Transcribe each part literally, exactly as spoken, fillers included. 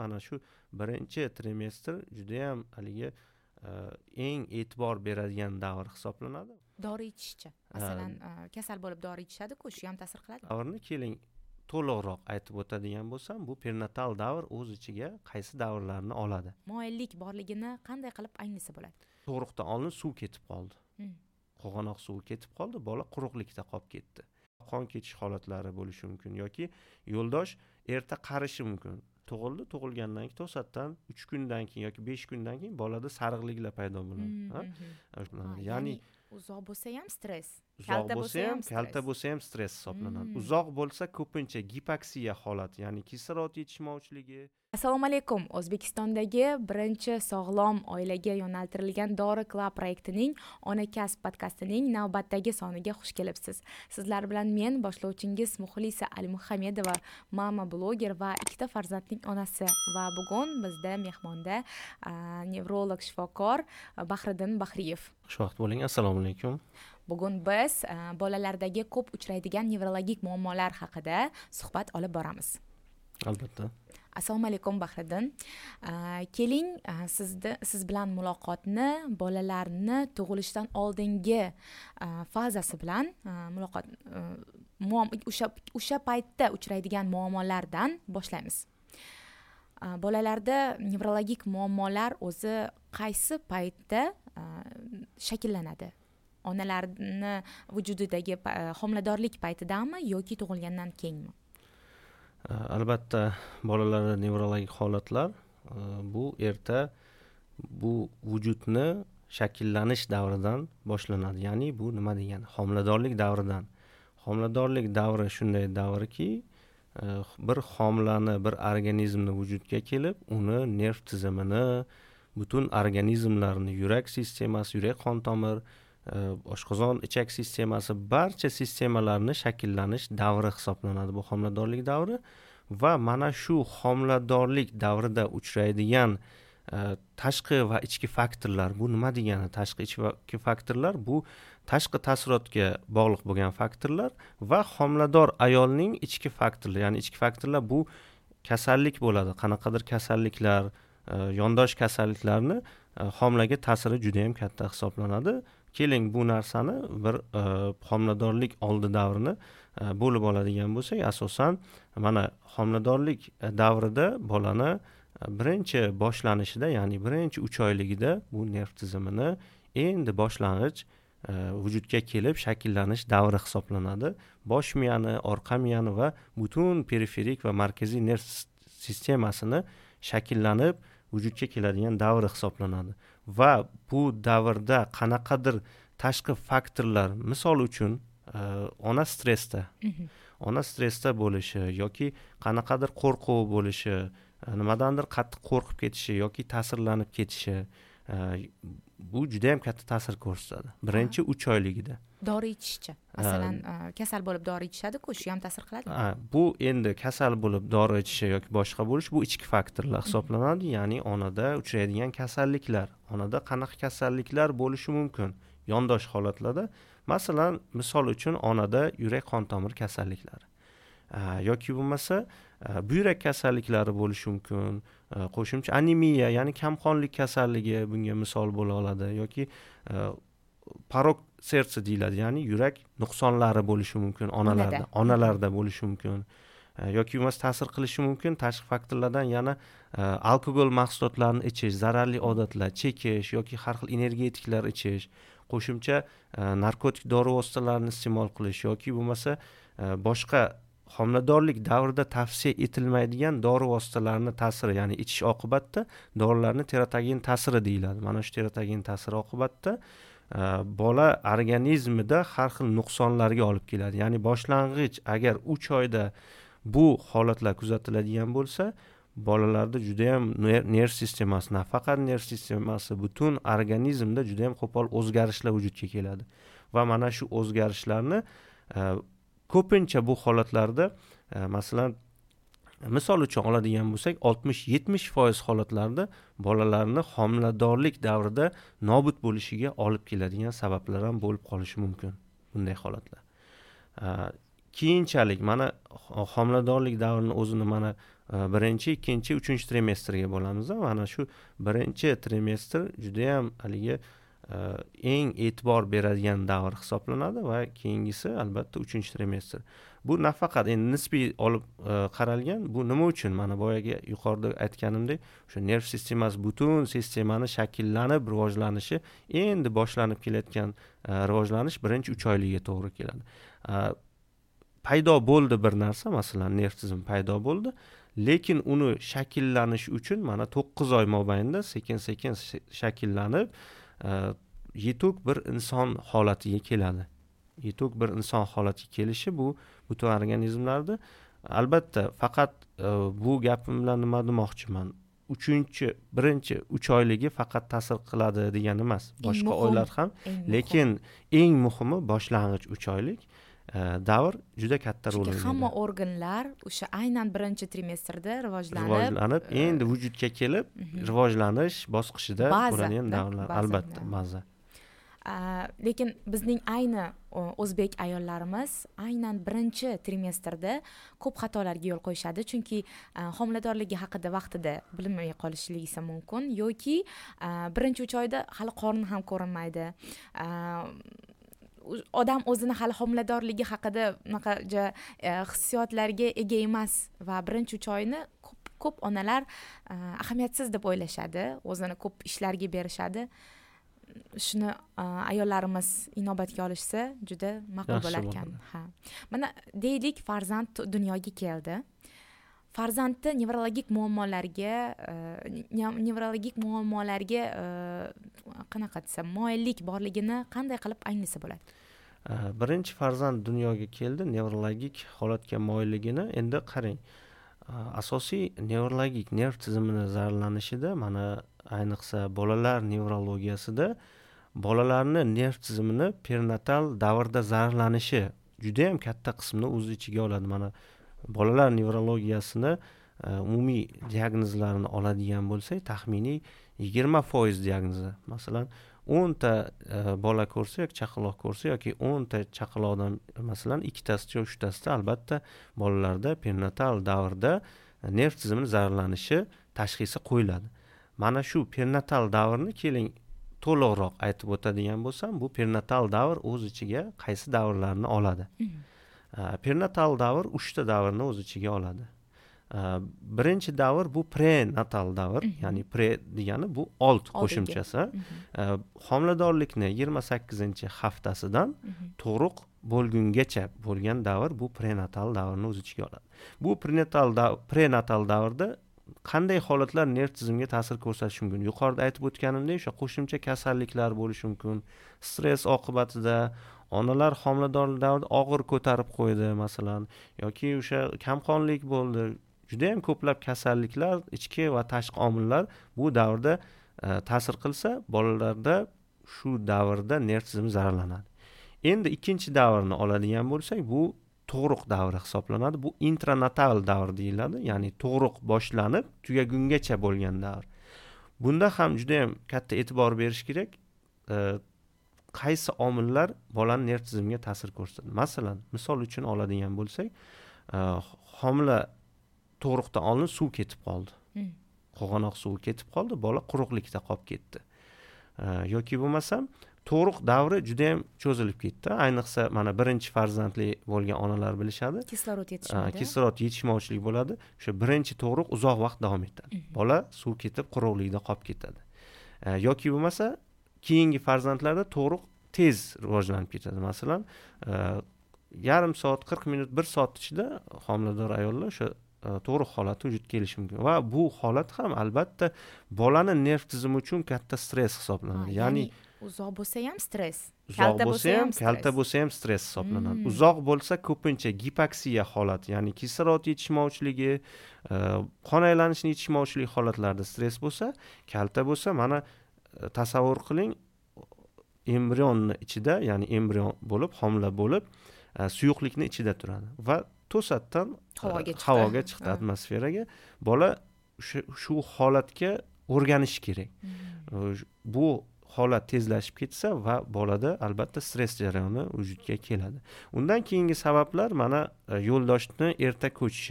mana shu birinchi trimestr juda ham haligi eng e'tibor beradigan davr hisoblanadi. Dori ichishchi. Masalan, kasal bo'lib dori ichishadi-ku, shu ham ta'sir qiladi. Davrni keling to'liqroq aytib o'tadigan bo'lsam, bu perinatal davr o'z ichiga qaysi davrlarni oladi? Moyillik borligini qanday qilib anglasa bo'ladi? Tug'ruqdan oldin suv ketib qoldi. Qo'g'anoq suvi ketib qoldi, bola quruqlikda qolib ketdi. Qon ketish holatlari bo'lishi mumkin yoki yo'ldosh erta qarishi mumkin. Tug'ildi, tug'ilgandan keyin to'satdan uch kundan keyin yoki besh kundan keyin bolada sariqliklar paydo bo'ladi. Ya'ni uzoq bo'lsa ham stress. Uzoq bo'lsa ham, kalta bo'lsa ham stress hisoblanadi. Uzoq bo'lsa ko'pincha gipoksiya holati, ya'ni kislorod yetishmovchiligi. Assalomu alaykum. O'zbekistondagi birinchi sog'lom oilaga yo'naltirilgan Dori Club proyektining Ona kasb podkastining navbatdagi soniga xush kelibsiz. Sizlar bilan men boshlovchingiz Muxlisa Alimuhammedova, mama bloger va ikkita farzandning onasi va bugun bizda mehmonda nevrolog shifokor Bahriddin Bahriyev. Xushvaqt bo'ling. Assalomu alaykum. Bugun biz bolalardagi ko'p uchraydigan nevrologik muammolar haqida suhbat olib boramiz. Albatta. Assalomu alaykum Bahriddin. Keling, sizni siz bilan muloqotni bolalarni tug'ilishdan oldingi fazasi bilan muloqot o'sha o'sha paytda uchraydigan muammolardan boshlaymiz. Bolalarda nevrologik muammolar o'zi qaysi paytda shakllanadi? Onalarni vujudidagi homiladorlik paytidami yoki tug'ilgandan keyinmi? Albatta, bolalarda nevrologik holatlar bu erta bu vujudni shakllanish davridan boshlanadi. Ya'ni bu nima degani? Homiladorlik davridan. Homiladorlik davri shunday davrki, bir homilani, bir organizmni vujudga kelib, uni nerv tizimini, butun organizmlarni, yurak sistemasi, yurak qon tomir, oshqozon ichak sistemasi, barcha sistemalarni shakllanish davri hisoblanadi bu homiladorlik davri. Va mana shu homiladorlik davrida uchraydigan tashqi va ichki faktorlar, bu nima degani? Tashqi ichki faktorlar bu tashqi ta'sirotga bog'liq bo'lgan faktorlar va homilador ayolning ichki faktorlari, ya'ni ichki faktorlar bu kasallik bo'ladi. Qanaqadir kasalliklar, yondosh kasalliklarni homilaga ta'siri juda ham katta hisoblanadi. Keling, bu narsani bir homiladorlik oldi davrini bo'lib oladigan bo'lsak, asosan mana homiladorlik davrida bolani birinchi boshlanishida, ya'ni birinchi uch oyligida bu nerv tizimini endi boshlang'ich vujudga kelib shakllanish davri hisoblanadi. Bosh miyani, orqa miyani va butun periferik va markaziy nerv sistemasini shakllanib vujudga keladigan davri hisoblanadi. Va bu davrda qanaqadir tashqi faktorlar, misol uchun ona stressda, ona stressda bo'lishi yoki qanaqadir qo'rquv bo'lishi, nimadandir qattiq qo'rqib ketishi yoki ta'sirlanib ketishi, bu juda ham katta ta'sir ko'rsatadi birinchi uch oyligida. Dori ichishchi. Masalan, kasal bo'lib dori ichishadi-ku, shu ham ta'sir qiladi. Bu endi kasal bo'lib dori ichishi yoki boshqa bo'lish, bu ichki faktorlar hisoblanadi, ya'ni onada uchraydigan kasalliklar. Onada qanaqa kasalliklar bo'lishi mumkin? Yondosh holatlarda, masalan, misol uchun onada yurak qon tomir kasalliklari yoki bo'lmasa buyrak kasalliklari bo'lishi mumkin. Qo'shimcha anemiya, ya'ni kamqonlik kasalligi bunga misol bo'la oladi yoki parok sersa deyiladi, ya'ni yurak nuqsonlari bo'lishi mumkin onalarda, onalarda bo'lishi mumkin. Yoki bo'lmasa ta'sir qilishi mumkin tashqi faktorlardan yana alkogol mahsulotlarini ichish, zararli odatlar, chekish yoki har xil energetiklar ichish, qo'shimcha narkotik dori vositalarini iste'mol qilish yoki bo'lmasa boshqa homiladorlik davrida tavsiya etilmaydigan dori vositalarini ta'siri, ya'ni ichish oqibatda dorilarni teratogen ta'siri deyiladi. Mana shu teratogen ta'siri oqibatda bola organizmida har xil nuqsonlarga olib keladi. Ya'ni boshlang'ich agar uch oyda bu holatlar kuzatiladigan bo'lsa, bolalarda juda ham nerv sistemasi, nafaqat nerv sistemasi, butun organizmda juda ham qo'pol o'zgarishlar vujudga keladi. Va mana shu o'zgarishlarni ko'pincha bu holatlarda, masalan, misol uchun oladigan bo'lsak, oltmish yetmish foiz holatlarda bolalarni homiladorlik davrida nobud bo'lishiga olib keladigan sabablar ham bo'lib qolishi mumkin bunday holatlar. Keyinchalik mana homiladorlik davrini o'zini mana birinchi ikkinchi uchinchi trimestrga bo'lamiz. Mana shu birinchi trimestr judayam haligi eng e'tibor beradigan davr hisoblanadi va keyingisi albatta uchinchi trimestr. Bu nafaqat endi nisbiy olib qaralgan. Bu nima uchun? Mana boyaga yuqorida aytganimdek, o'sha nerv sistemasi butun sistemani shakllanib rivojlanishi, endi boshlanib kelayotgan rivojlanish birinchi uch oylikka to'g'ri keladi. Paydo bo'ldi bir narsa, masalan, nerv tizimi paydo bo'ldi, lekin uni shakllanish uchun mana to'qqiz oy mobaynida sekin-sekin shakllanib yetuk bir inson holatiga keladi. Yetuk bir inson holatiga kelishi bu butun organizmlarda albatta faqat bu gapim bilan nima demoqchiman? uchinchi birinchi uch oyligi faqat ta'sir qiladi degani emas. Boshqa oylar ham, lekin eng muhimi boshlang'ich uch oylik davr juda katta rol o'ynaydi. Hamma organlar o'sha aynan birinchi trimestrda rivojlanib, rivojlanib, endi vujudga kelib, rivojlanish bosqichida bo'ladigan davrlar, albatta, baza. Lekin bizning ayni o'zbek ayollarimiz aynan birinchi trimestrda ko'p xatolarga yo'l qo'yishadi, chunki homiladorligi haqida vaqtida bilmay qolishligi mumkin yoki birinchi uch oyda hali qorni ham ko'rinmaydi. Odam o'zini hali homiladorligi haqida unaqa hissiyotlarga ega emas va birinchi uch oyni ko'p ko'p onalar ahamiyatsiz deb o'ylashadi, o'zini ko'p ishlarga berishadi. Shuni ayollarimiz inobatga olishsa juda ma'qul bo'lar ekan. Ha. Mana deylik, farzand dunyoga keldi. Farzandni nevrologik muammolarga nevrologik muammolarga qanaqa desam, moyillik borligini qanday qilib anglasa bo'ladi? Birinchi farzand dunyoga keldi, nevrologik holatga moyilligini endi qarang. Asosiy nevrologik nerv tizimini zararlanishida, mana ayniqsa bolalar nevrologiyasida bolalarni nerv tizimini perinatal davrda zararlanishi juda ham katta qismini o'z ichiga oladi. Mana bolalar nevrologiyasini umumiy diagnozlarini oladigan bo'lsak, taxminiy yigirma foiz diagnozi. Masalan, o'nta bola ko'rsa yoki chaqaloq ko'rsa yoki o'nta chaqaloqdan masalan ikkitasi yoki uchtasida albatta bolalarda perinatal davrda nerv tizimini zararlanishi tashxisi qo'yiladi. Mana shu perinatal davrni keling to'liqroq aytib o'tadigan bo'lsam, bu perinatal davr o'z ichiga qaysi davrlarni oladi? Perinatal davr uchta davrni o'z ichiga oladi. Birinchi davr bu prenatal davr, ya'ni pre degani bu old qo'shimchasi. Homiladorlikni yigirma sakkizinchi haftasidan tug'ruq bo'lgungacha bo'lgan davr bu prenatal davrni o'z ichiga oladi. Bu prenatal davr, prenatal davrda qanday holatlar nerv tizimiga ta'sir ko'rsatishi mumkin? Yuqorida aytib o'tganimdek, o'sha qo'shimcha kasalliklar bo'lishi mumkin. Stress oqibatida onalar homiladorlik davrida og'ir ko'tarib qo'ydi masalan, yoki o'sha kamqonlik bo'ldi. Juda ham ko'plab kasalliklar, ichki va tashqi omillar bu davrda ta'sir qilsa, bolalarda shu davrda nerv tizimi zararlanadi. Endi ikkinchi davrni oladigan bo'lsak, bu tug'ruq davri hisoblanadi. Bu intranatal davr deyiladi, ya'ni tug'ruq boshlanib tugagungacha bo'lgan davr. Bunda ham juda ham katta e'tibor berish kerak. Qaysi omillar bolaning nerv tizimiga ta'sir ko'rsatadi? Masalan, misol uchun oladigan bo'lsak, homila tug'ruqdan oldin suv ketib qoldi. Qo'g'anoq suvi ketib qoldi, bola quruqlikda qolib ketdi. Yoki bo'lmasam, tug'ruq davri juda ham cho'zilib ketdi. Ayniqsa mana birinchi farzandli bo'lgan onalar bilishadi. Kislorod yetishmaydi. Kislorod yetishmovchilik bo'ladi. O'sha birinchi tug'ruq uzoq vaqt davom etadi. Bola suv ketib quruqlikda qolib ketadi. Yoki bo'lmasa, keyingi farzandlarda tug'ruq tez rivojlanib ketadi. Masalan, yarim soat, qirq minut, bir soat ichida homilador ayollar o'sha tug'ruq holati vujudga kelishi mumkin. Va bu holat ham albatta bolaning nerv tizimi uchun katta stress hisoblanadi. Ya'ni uzoq bo'lsa ham stress, kalta bo'lsa ham, kalta bo'lsa ham stress hisoblanadi. Uzoq bo'lsa ko'pincha gipoksiya holati, ya'ni kislorod yetishmovchiligi, qon aylanishini yetishmovchilik holatlarida stress bo'lsa, kalta bo'lsa, mana tasavvur qiling, embrionni ichida, ya'ni embrion bo'lib, homila bo'lib, suyuqlikni ichida turadi va to'satdan havoga chiqdi, atmosferaga. Bola shu holatga o'rganishi kerak. Bu holat tezlashib ketsa va bolada albatta stress jarayoni vujudga keladi. Undan keyingi sabablar mana yo'ldoshni erta ko'chishi.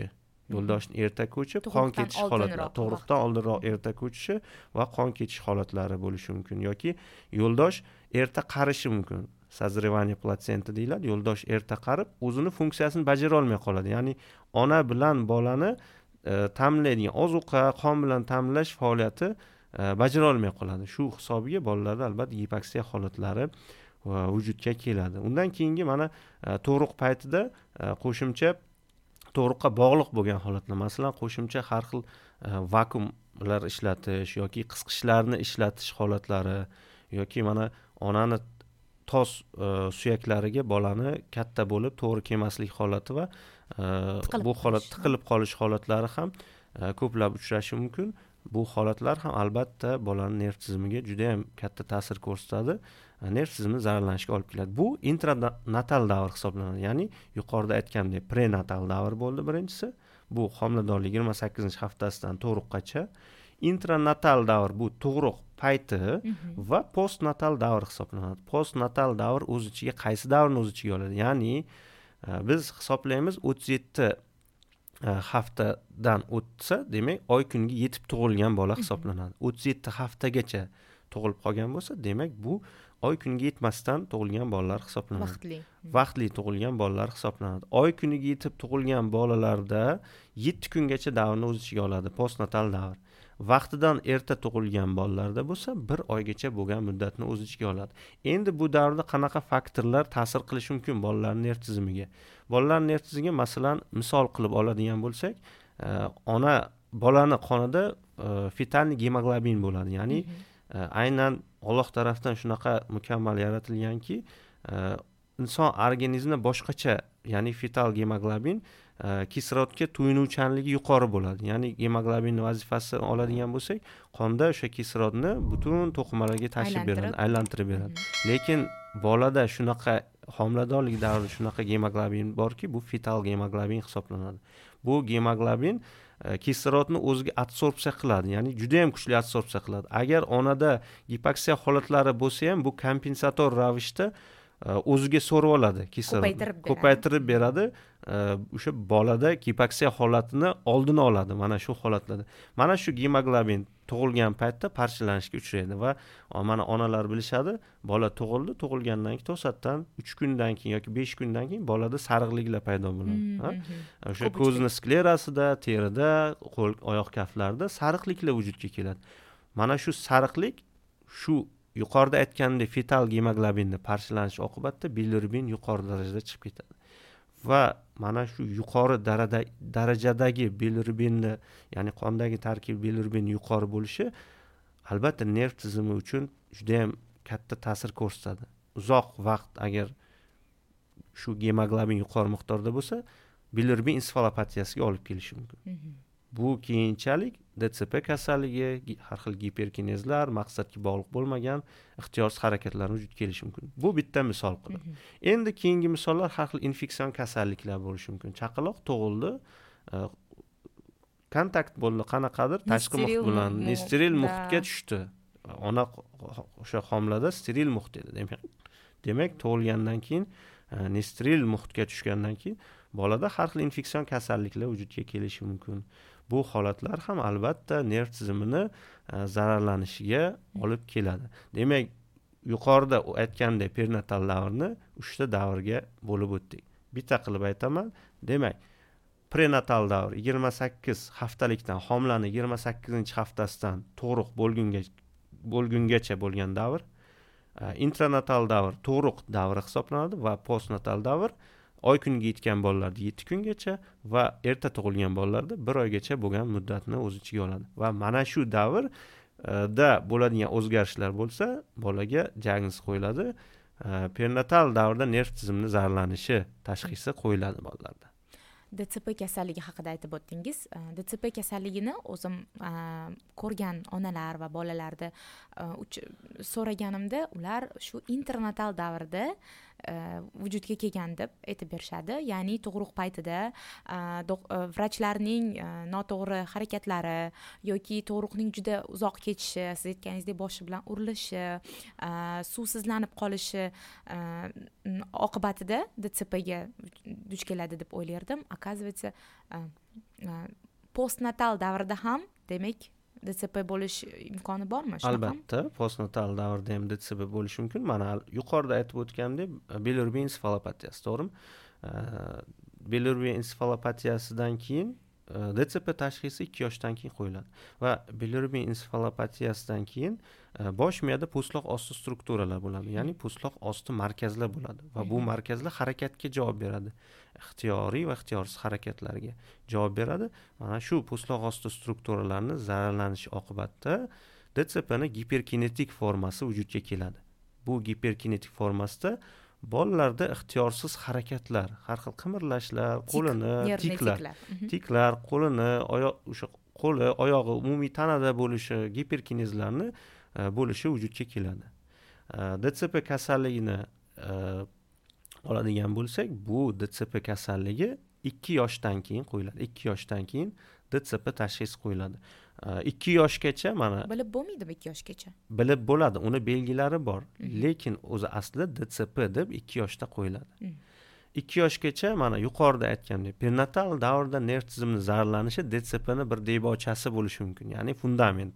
yo'ldoshni erta ko'chib qon ketish holatlari, tug'ruqdan oldinroq erta ko'chishi va qon ketish holatlari bo'lishi mumkin yoki yo'ldosh erta qarishi mumkin. Sazrevание platsenta deyiladi. Yo'ldosh erta qarib, o'zini funksiyasini bajara olmay qoladi. Ya'ni ona bilan bolani e, ta'minlaydigan ozuqa, qon bilan ta'minlash faoliyati e, bajara olmay qoladi. Shu hisobiga bolalarda albatta gipoksiya holatlari vujudga keladi. Undan keyingi mana e, tug'ruq paytida e, qo'shimcha tug'ruqqa bog'liq bo'lgan holatlar, masalan, qo'shimcha har xil e, vakuumlar ishlatish yoki qisqichlarni ishlatish holatlari yoki mana onani tos e, suyaklariga bolani katta bo'lib to'g'ri kelmaslik holati va e, bu holat tiqilib qolish holatlari ham e, ko'plab uchrashi mumkin. Bu holatlar ham albatta bolani nerv tizimiga juda ham katta ta'sir ko'rsatadi. Nerv tizimi zararlanishiga olib keladi. Bu intranatal davr hisoblanadi. Ya'ni yuqorida aytgandek prenatal davr bo'ldi birinchisi. Bu homiladorlik yigirma sakkizinchi haftasidan tug'ruqqacha. Intranatal davr bu tug'ruq payti va postnatal davr hisoblanadi. Postnatal davr o'z ichiga qaysi davrni o'z ichiga oladi? Ya'ni biz hisoblaymiz o'ttiz yetti haftadan o'tsa, demak oy kuniga yetib tug'ilgan bola hisoblanadi. o'ttiz yetti haftagacha tug'ilib qolgan bo'lsa, demak bu oy kuniga yetmasdan tug'ilgan bolalar hisoblanadi. Vaqtli. Vaqtli tug'ilgan bolalar hisoblanadi. Oy kuniga yetib tug'ilgan bolalarda yetti kungacha davrni o'z ichiga oladi, postnatal davr. Vaqtidan erta tug'ilgan bolalarda bo'lsa, bir oygacha bo'lgan muddatni o'z ichiga oladi. Endi bu davrda qanaqa faktorlar ta'sir qilishi mumkin bolalarning nerv tizimiga? Bolalar nerv tizimiga masalan misol qilib oladigan bo'lsak, e, ona bolani qonida e, fetalniy gemoglobin bo'ladi. Ya'ni e, aynan Alloh tarafdan shunaqa mukammal yaratilganki, e, inson organizmida boshqacha, ya'ni fetal gemoglobin e, kislorodga to'yinuvchanligi yuqori bo'ladi. Ya'ni gemoglobinning vazifasini oladigan bo'lsak, qonda o'sha kislorodni butun to'qimalarga tashib beradi, aylantirib beradi. Lekin bolada shunaqa homiladorlik davrida shunaqa gemoglobin borki, bu fetal gemoglobin hisoblanadi. Bu gemoglobin e, kislorodni o'ziga adsorpsiya qiladi, ya'ni juda ham kuchli adsorpsiya qiladi. Agar onada gipoksiya holatlari bo'lsa ham bu kompensator ravishda o'ziga so'rib oladi, kislorod ko'paytirib beradi. O'sha bolada gipoksiya holatini oldini oladi mana shu holatlarda. Mana shu gemoglobin tug'ilgan paytda parchalanishga uchraydi va mana onalar bilishadi, bola tug'ildi, tug'ilgandan keyin to'satdan uch kundan keyin yoki besh kundan keyin bolada sariqliklar paydo bo'ladi. O'sha ko'zning sklerasida, terida, qo'l, oyoq kaflarida sariqliklar vujudga keladi. Mana shu sariqlik shu yuqorida aytgandek fetal gemoglobinni parchalanishi oqibatida bilirubin yuqori darajada chiqib ketadi. Va mana shu yuqori darajadagi bilirubinni, ya'ni qondagi tarkib bilirubin yuqori bo'lishi albatta nerv tizimi uchun juda ham katta ta'sir ko'rsatadi. Uzoq vaqt agar shu gemoglobin yuqori miqdorda bo'lsa, bilirubin ensefalopatiyasiga olib kelishi mumkin. Bu keyinchalik D C P kasalligi, har xil giperkinezlar, maqsadga bog'liq bo'lmagan ixtiyorsiz harakatlar vujudga kelishi mumkin. Bu bitta misol qilib. Endi keyingi misollar har xil infeksion kasalliklar bo'lishi mumkin. Chaqaloq tug'ildi, kontakt bo'ldi qanaqadir tashqi muhit bilan, steril muhitga tushdi. Ona o'sha homilada steril muhit edi. Demak, demak tug'ilgandan keyin nesteril muhitga tushgandan keyin bolada har xil infeksion kasalliklar vujudga kelishi mumkin. Bu holatlar ham albatta nerv tizimini zararlanishiga olib keladi. Demak, yuqorida aytgandek perinatal davrni uchta davrga bo'lib o'tdik. Bitta qilib aytaman. Demak, prenatal davr yigirma sakkiz haftalikdan homilaning yigirma sakkizinchi haftasidan tug'ruq bo'lgungacha bo'lgungacha bo'lgan davr. Intranatal davr tug'ruq davri hisoblanadi va postnatal davr oy kuniga yetgan bolalarda yetti kungacha va erta tug'ilgan bolalarda bir oygacha bo'lgan muddatni o'z ichiga oladi. Va mana shu davrda bo'ladigan o'zgarishlar bo'lsa, bolaga diagnoz qo'yiladi. Perinatal davrda nerv tizimining zararlanishi tashxisi qo'yiladi bolalarda. D C P kasalligi haqida aytib o'tdingiz. D C P kasalligini o'zim ko'rgan onalar va bolalarda so'raganimda, ular shu internatal davrda vujudga kelgan deb aytib berishadi. Ya'ni tug'ruq paytida vrachlarning noto'g'ri harakatlari yoki tug'ruqning juda uzoq kechishi, siz aytganingizdek boshi bilan urilishi, suvsizlanib qolishi oqibatida D C P ga duch keladi deb o'ylardim. Оказывается, postnatal davrida ham demak D C P bo'lish imkoni bormi? Albatta, postnatal davrda ham D C P bo'lishi mumkin. Mana yuqorida aytib o'tgandek, bilirubin ensefalopatiyasi, to'g'rimi? Bilirubin ensefalopatiyasidan keyin D C P tashxisi ikki yoshdan keyin qo'yiladi va bilirubin ensefalopatiyasidan keyin bosh miyada po'stloq osti strukturalar bo'ladi, ya'ni po'stloq osti markazlar bo'ladi va bu markazlar harakatga javob beradi, ixtiyoriy va ixtiyorsiz harakatlarga javob beradi. Mana shu po'stloq osti strukturalarini zararlanishi oqibatida D C P ni giperkinetik formasi vujudga keladi. Bu giperkinetik formasida bolalarda ixtiyorsiz harakatlar, har xil qimirlashlar, qo'lini tiklar, tiklar, qo'lini, oyoq, o'sha qo'li, oyog'i, umumiy tanada bo'lishi, giperkinezlarni bo'lishi vujudga keladi. D C P kasalligini oladigan bo'lsak, bu D C P kasalligi ikki yoshdan keyin qo'yiladi. ikki yoshdan keyin D C P tashxisi qo'yiladi. ikki yoshgacha mana bilib bo'lmaydimi ikki yoshgacha? Bilib bo'ladi, uni belgilari bor, lekin o'zi aslida D C P deb ikki yoshda qo'yiladi. ikki yoshgacha mana yuqorida aytgandek, perinatal davrda nerv tizimining zararlanishi D C P ni bir debochasi bo'lishi mumkin, ya'ni fundament.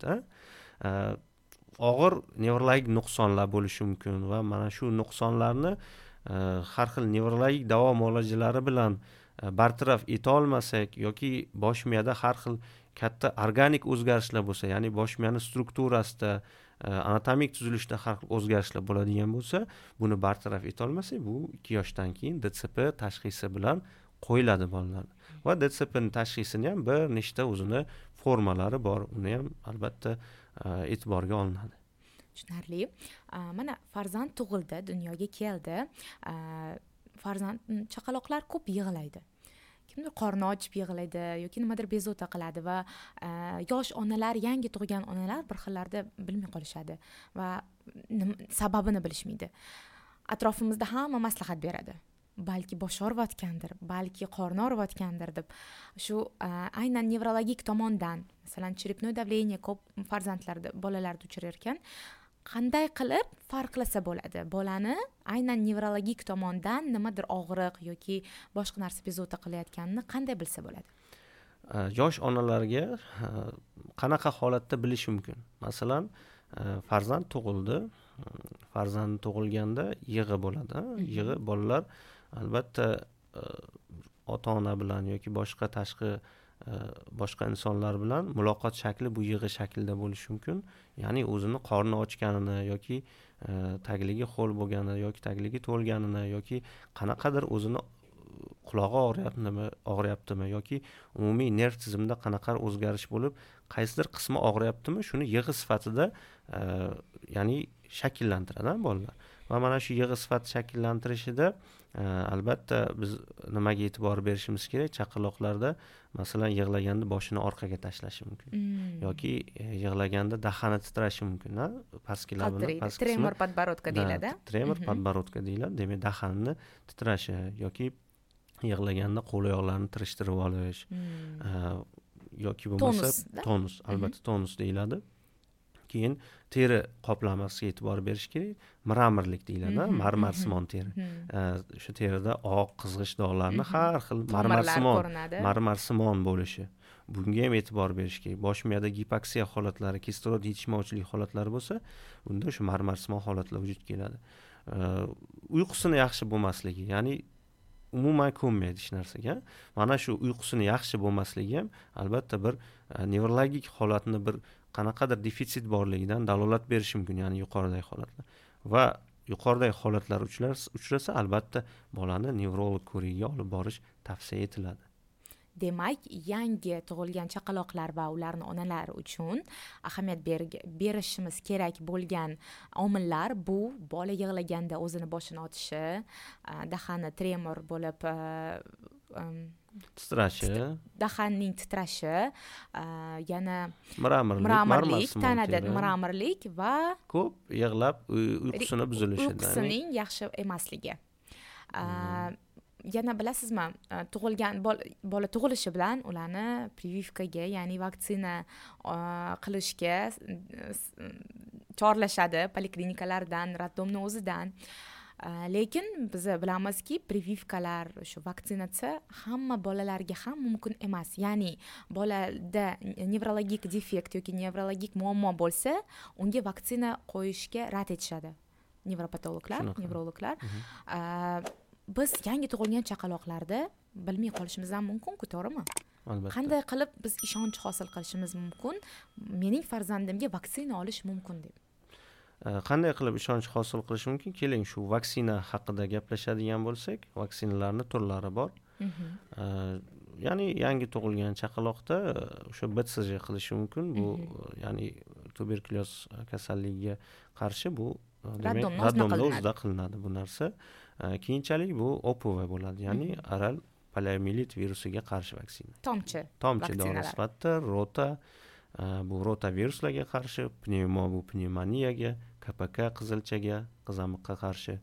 Og'ir nevrologik nuqsonlar bo'lishi mumkin va mana shu nuqsonlarni har xil nevrologik davo muolajalari bilan bartaraf eta olmasak yoki bosh miyada har xil katta organik o'zgarishlar bo'lsa, ya'ni bosh miyani strukturasida, anatomik tuzilishda har xil o'zgarishlar bo'ladigan bo'lsa, buni bartaraf eta olmasak, bu ikki yoshdan keyin D C P tashxisi bilan qo'yiladi bolalar. Va D C P ning tashxisini ham bir nechta o'zini formalari bor, uni ham albatta e'tiborga olinadi. Tushunarli. Mana farzand tug'ildi, dunyoga keldi. Farzand chaqaloqlar ko'p yig'laydi. Kimdir qorni ochib yig'laydi yoki nimadir bezovta qiladi va yosh onalar, yangi tug'ilgan onalar bir xillarda bilmay qolishadi va sababini bilishmaydi. Atrofimizda hamma maslahat beradi. Balki boshi og'riyotgandir, balki qorni og'riyotgandir deb. Shu aynan nevrologik tomondan, masalan, черепное давление ko'p farzandlarda, bolalarda uchrar ekan. Qanday qilib farqlasa bo'ladi? Bolani aynan nevrologik tomondan nimadir og'riq yoki boshqa narsa bezovta qilayotganini qanday bilsa bo'ladi? Yosh onalarga qanaqa holatda bilish mumkin? Masalan, farzand tug'ildi. Farzand tug'ilganda yig'i bo'ladi. Yig'i bolalar albatta ota-ona bilan yoki boshqa tashqi boshqa insonlar bilan muloqot shakli bu yig'i shaklida bo'lishi mumkin. Ya'ni o'zini qorni ochganini yoki tagligi ho'l bo'lganini yoki tagligi to'lganini yoki qanaqadir o'zini qulog'i og'riyaptimi, og'riyaptimi yoki umumiy nerv tizimida qanaqadir o'zgarish bo'lib, qaysidir qismi og'riyaptimi, shuni yig'i sifatida ya'ni shakllantiradi bolalar. Va mana shu yig'i sifat shakllantirishida albatta biz nimaga e'tibor berishimiz kerak? Chaqaloqlarda masalan yig'laganda boshini orqaga tashlashi mumkin. Mm. Yoki yig'laganda dahani titrashi mumkin, ha? Pastki labini, pastki tremor podborodka deyiladi. Tremor podborodka deyiladi. Demak, dahanni titrashi yoki yig'laganda qo'l oyoqlarni tirishtirib olish, mm. yoki bo'lmasa tonus, albatta tonus deyiladi. Keyin teri qoplamasiga e'tibor berish kerak. Mramorlik deyiladi, marmarsimon teri. O'sha terida oq, qizg'ish dog'larni har xil marmarsimon, marmarsimon bo'lishi. Bunga ham e'tibor berish kerak. Bosh miyada gipoksiya holatlari, kislorod yetishmovchilik holatlari bo'lsa, bunda o'sha marmarsimon holatlar vujudga keladi. Uyqusini yaxshi bo'lmasligi, ya'ni umuman ko'nmaydi hech narsaga. Mana shu uyqusini yaxshi bo'lmasligi ham albatta bir nevrologik holatni bir qanaqadir defitsit borligidan dalolat berishi mumkin, ya'ni yuqoridagi holatlar. Va yuqoridagi holatlar uchrasa, albatta bolani nevrolog ko'rigiga olib borish tavsiya etiladi. Demak, yangi tug'ilgan chaqaloqlar va ularning onalari uchun ahamiyat berishimiz kerak bo'lgan omillar bu bola yig'laganda o'zini boshini otishi, dahani tremor bo'lib titrashi, dahanning titrashi, yana mramorlik, mramorlik, tanada mramorlik va ko'p yig'lab uyqusini buzilishi, uyqusining yaxshi emasligi. yana bilasizmi, tug'ilgan bola tug'ilishi bilan ularni прививкаga, ya'ni vaksina qilishga chorlashadi poliklinikalardan, roddomni o'zidan. Lekin biz bilamizki, прививкаlar, shu vaksinatsiya hamma bolalarga ham mumkin emas. Ya'ni bolada nevrologik defekt yoki nevrologik muammo bo'lsa, unga vaksina qo'yishga rad etishadi nevropatologlar, nevrologlar. Biz yangi tug'ilgan chaqaloqlarda bilmay qolishimiz ham mumkin-ku, to'g'rimi? Albatta. Qanday qilib biz ishonch hosil qilishimiz mumkin? Mening farzandimga vaksina olish mumkin deb. Qanday qilib ishonch hosil qilish mumkin? Keling, shu vaksina haqida gaplashadigan bo'lsak, vaksinalarning turlari bor. Ya'ni yangi tug'ilgan chaqaloqda o'sha B C G qilishi mumkin. Bu ya'ni tuberkulyoz kasalligiga qarshi bu demak raddomda o'zida qilinadi bu narsa. Keyinchalik bu O P V bo'ladi, ya'ni oral poliomiyelit virusiga qarshi vaksina. Tomchi. Tomchi dori sifatida rota, bu rotaviruslarga qarshi, pnevmo bu pnevmoniyaga, K P K qizilchaga, qizamiqqa qarshi,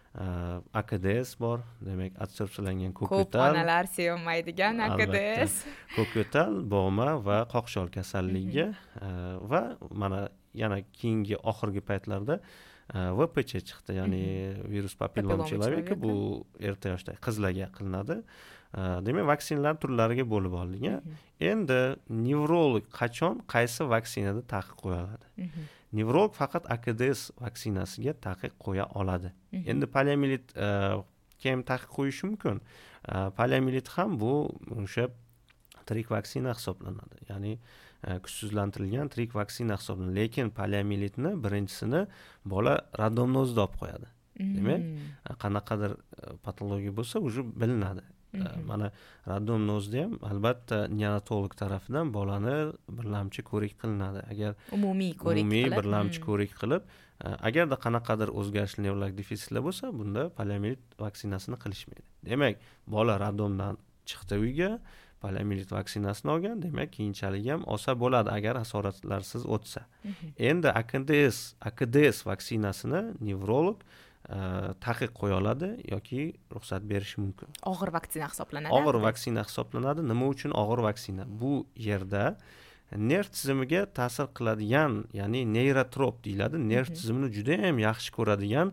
A K D S bor, demak adsorpsiyalangan ko'kyo'tal. Ko'p onalar sevmaydigan A K D S. Ko'kyo'tal, bo'g'ma va qoqshol kasalligiga va mana yana keyingi oxirgi paytlarda V P Ch chiqdi, ya'ni virus papilloma человека, bu erta yoshda qizlarga qilinadi. Demak, vaksinalar turlariga bo'lib oldik. Endi nevrolog qachon qaysi vaksinada taqiq qo'yiladi? Nevrolog faqat A K D S vaksinasiga taqiq qo'ya oladi. Endi poliomiyelit kim taqiq qo'yishi mumkin? Poliomiyelit ham bu o'sha tirik vaksina hisoblanadi. Ya'ni kuchsizlantirilgan tirik vaksina hisoblanadi. Lekin poliomielitni birinchisini bola raddomni o'zida olib qo'yadi. Demak, qanaqadir patologiya bo'lsa, уже bilinadi. Mana raddomni o'zida ham albatta neonatolog tarafidan bolani birlamchi ko'rik qilinadi. Agar umumiy ko'rik umumiy birlamchi ko'rik qilib, agarda qanaqadir o'zgarishli nevrologik defitsitlar bo'lsa, bunda poliomiyelit vaksinasini qilishmaydi. Demak, bola raddomdan chiqdi uyga, poliomiyelit vaksinasini olgan, demak, keyinchalik ham olsa bo'ladi agar asoratlarsiz o'tsa. Endi A K D S, A K D S vaksinasini nevrolog taqiq qo'ya oladi yoki ruxsat berishi mumkin. Og'ir vaksina hisoblanadi. Og'ir vaksina hisoblanadi. Nima uchun og'ir vaksina? Bu yerda nerv tizimiga ta'sir qiladigan, ya'ni neyrotrop deyiladi, nerv tizimini juda ham yaxshi ko'radigan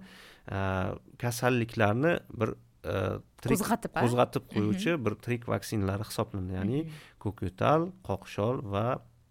kasalliklarni bir qo'zg'atib qo'zg'atib qo'yuvchi bir tirik vaksinalar hisoblanadi. Ya'ni ko'kyo'tal, qoqshol va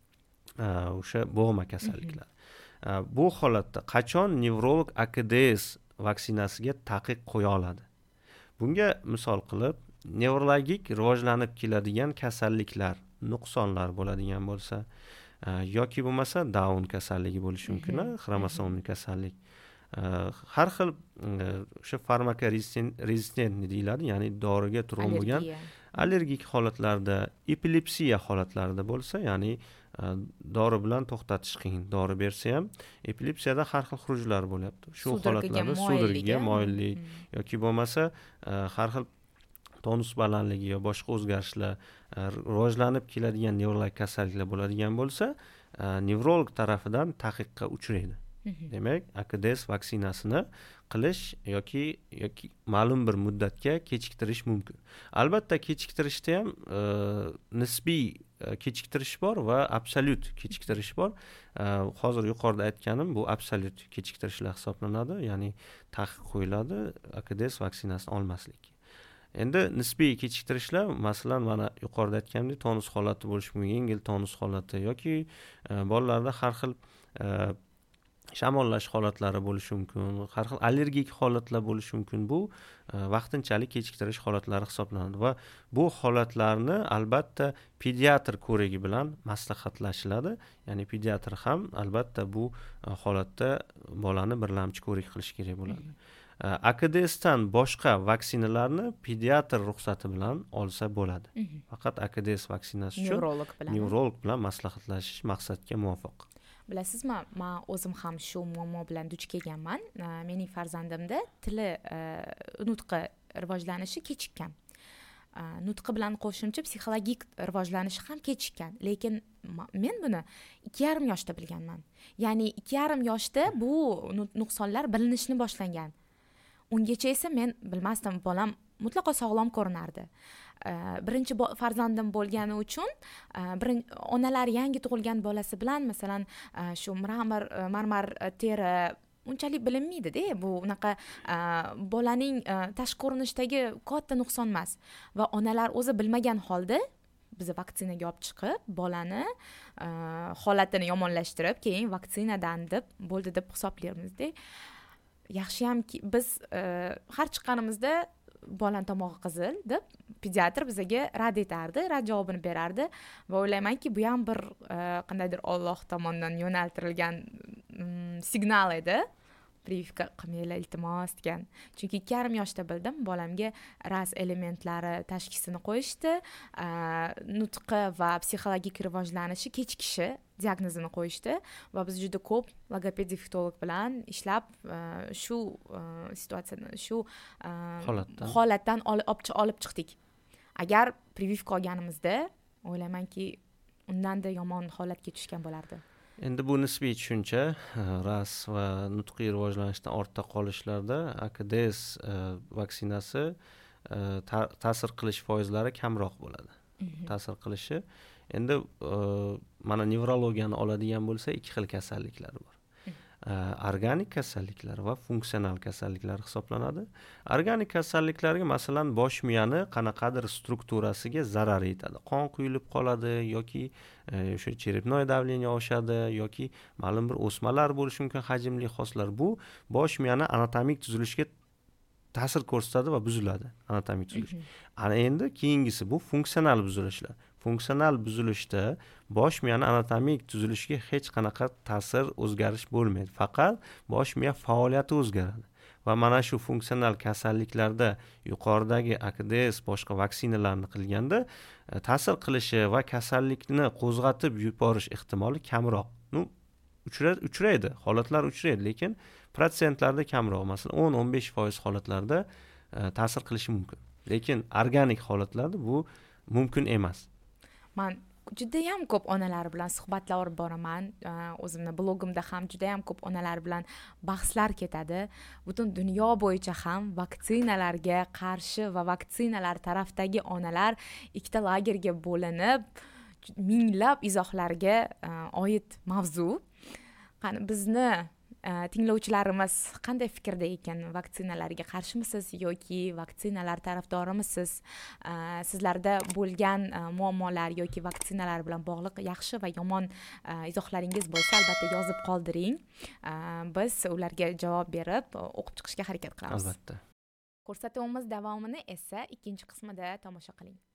o'sha bo'g'ma kasalliklar. Bu holatda qachon nevrolog A K D S vaksinasiga taqiq qo'ya oladi? Bunga misol qilib, nevrologik rivojlanib keladigan kasalliklar, nuqsonlar bo'ladigan bo'lsa, yoki bo'lmasa Down kasalligi bo'lishi mumkin, xromosomli kasallik. Har xil o'sha farmakorezistent deyiladi, ya'ni doriga turg'un bo'lgan allergik holatlarda, epilepsiya holatlarida bo'lsa, ya'ni dori bilan to'xtatish qiyin. Dori bersa ham epilepsiyada har xil xurujlar bo'lyapti. Shu holatlarda sudraga moyillik yoki bo'lmasa har xil tonus balandligi yo boshqa o'zgarishlar, rivojlanib keladigan nevrologik kasalliklar bo'ladigan bo'lsa, nevrolog tarafidan taqiqqa uchraydi. Demak, A K D S vaksinasini qilish yoki yoki ma'lum bir muddatga kechiktirish mumkin. Albatta, kechiktirishda ham nisbiy kechiktirish bor va absolyut kechiktirish bor. Hozir yuqorida aytganim bu absolyut kechiktirishlar hisoblanadi, ya'ni taqiq qo'yiladi A K D S vaksinasini olmaslik. Endi nisbiy kechiktirishlar, masalan, mana yuqorida aytganimdek, tonus holati bo'lishi mumkin, yengil tonus holati yoki bolalarda har xil shamollash holatlari bo'lishi mumkin, har xil allergik holatlar bo'lishi mumkin. Bu vaqtinchalik kechiktirish holatlari hisoblanadi va bu holatlarni albatta pediatr ko'rigi bilan maslahatlashiladi. Ya'ni pediatr ham albatta bu holatda bolani birlamchi ko'rik qilish kerak bo'ladi. A K D S dan boshqa vaksinalarni pediatr ruxsati bilan olsa bo'ladi. Faqat A K D S vaksinasi uchun nevrolog bilan nevrolog bilan maslahatlashish maqsadga muvofiq. Bilasizmi, men o'zim ham shu muammo bilan duch kelganman. Mening farzandimda tili nutqi rivojlanishi kechikkan. Nutqi bilan qo'shimcha psixologik rivojlanishi ham kechikkan. Lekin men buni ikki yarim yoshda bilganman. Ya'ni ikki yarim yoshda bu nuqsonlar bilinishni boshlagan. ungacha esa men bilmasdim, bolam mutlaqo sog'lom ko'rinardi. Birinchi farzandim bo'lgani uchun birinchi onalar yangi tug'ilgan bolasi bilan masalan shu marmar marmar teri unchalik bilinmaydi-da, bu unaqa bolaning tashqi ko'rinishdagi katta nuqson emas va onalar o'zi bilmagan holda bizni vaksinaga olib chiqib, bolani holatini yomonlashtirib, keyin vaksinadan deb bo'ldi deb hisoblaymiz-da. Yaxshiyamki biz har chiqqanimizda bolam tomog'i qizil deb pediatr bizga rad etardi, rad javobini berardi va o'ylaymanki, bu ham bir qandaydir Alloh tomonidan yo'naltirilgan signal edi. Прививка qilmanglar iltimos degan. Chunki ikki yarim yoshda bildim, bolamga ras elementlari tashxisini qo'yishdi, nutqi va psixologik rivojlanishi kechikishi diagnozini qo'yishdi va biz juda ko'p logoped dialektolog bilan ishlab shu situatsiyani, shu holatdan holatdan olib chiqdik. Agar прививка olganimizda, o'ylaymanki, undanda yomon holatga tushgan bo'lardi. Endi bu nisbiy tushuncha. Ras va nutqiy rivojlanishdan ortda qolishlarda A K D S vaksinasi ta'sir qilish foizlari kamroq bo'ladi. Ta'sir qilishi. Endi mana nevrologiyani oladigan bo'lsa, ikki xil kasalliklar bor. Organik kasalliklar va funksional kasalliklar hisoblanadi. Organik kasalliklarga masalan bosh miyani qanaqadir strukturasiga zarar yetadi. Qon quyilib qoladi yoki o'sha cherepnoy davleniya oshadi yoki ma'lum bir o'smalar bo'lishi mumkin, hajmli xoslar. Bu bosh miyani anatomik tuzilishiga ta'sir ko'rsatadi va buziladi anatomik tuzilish. Ana endi keyingisi bu funksional buzilishlar. Funksional buzilishda bosh miyani anatomik tuzilishiga hech qanaqa ta'sir, o'zgarish bo'lmaydi. Faqat bosh miya faoliyati o'zgaradi. Va mana shu funksional kasalliklarda yuqoridagi A K D S boshqa vaksinalarni qilganda ta'sir qilishi va kasallikni qo'zg'atib yuborish ehtimoli kamroq. Nu uchraydi, holatlar uchraydi, lekin protsentlarda kamroq. Masalan, o'n o'n besh foiz holatlarda ta'sir qilishi mumkin. Lekin organik holatlarda bu mumkin emas. Men juda ham ko'p onalar bilan suhbatlar olib boraman. O'zimning blogimda ham juda ham ko'p onalar bilan bahslar ketadi. Butun dunyo bo'yicha ham vaksinalarga qarshi va vaksinalar tarafdagi onalar ikkita lagerga bo'linib, minglab izohlarga oid mavzu. Qani bizni tinglovchilarimiz qanday fikrda ekan? Vaksinalarga qarshimisiz yoki vaksinalar tarafdorimisiz? Sizlarda bo'lgan muammolar yoki vaksinalar bilan bog'liq yaxshi va yomon izohlaringiz bo'lsa, albatta yozib qoldiring. Biz ularga javob berib, o'qib chiqishga harakat qilamiz. Albatta. Ko'rsatuvimiz davomini esa ikkinchi qismida tomosha qiling.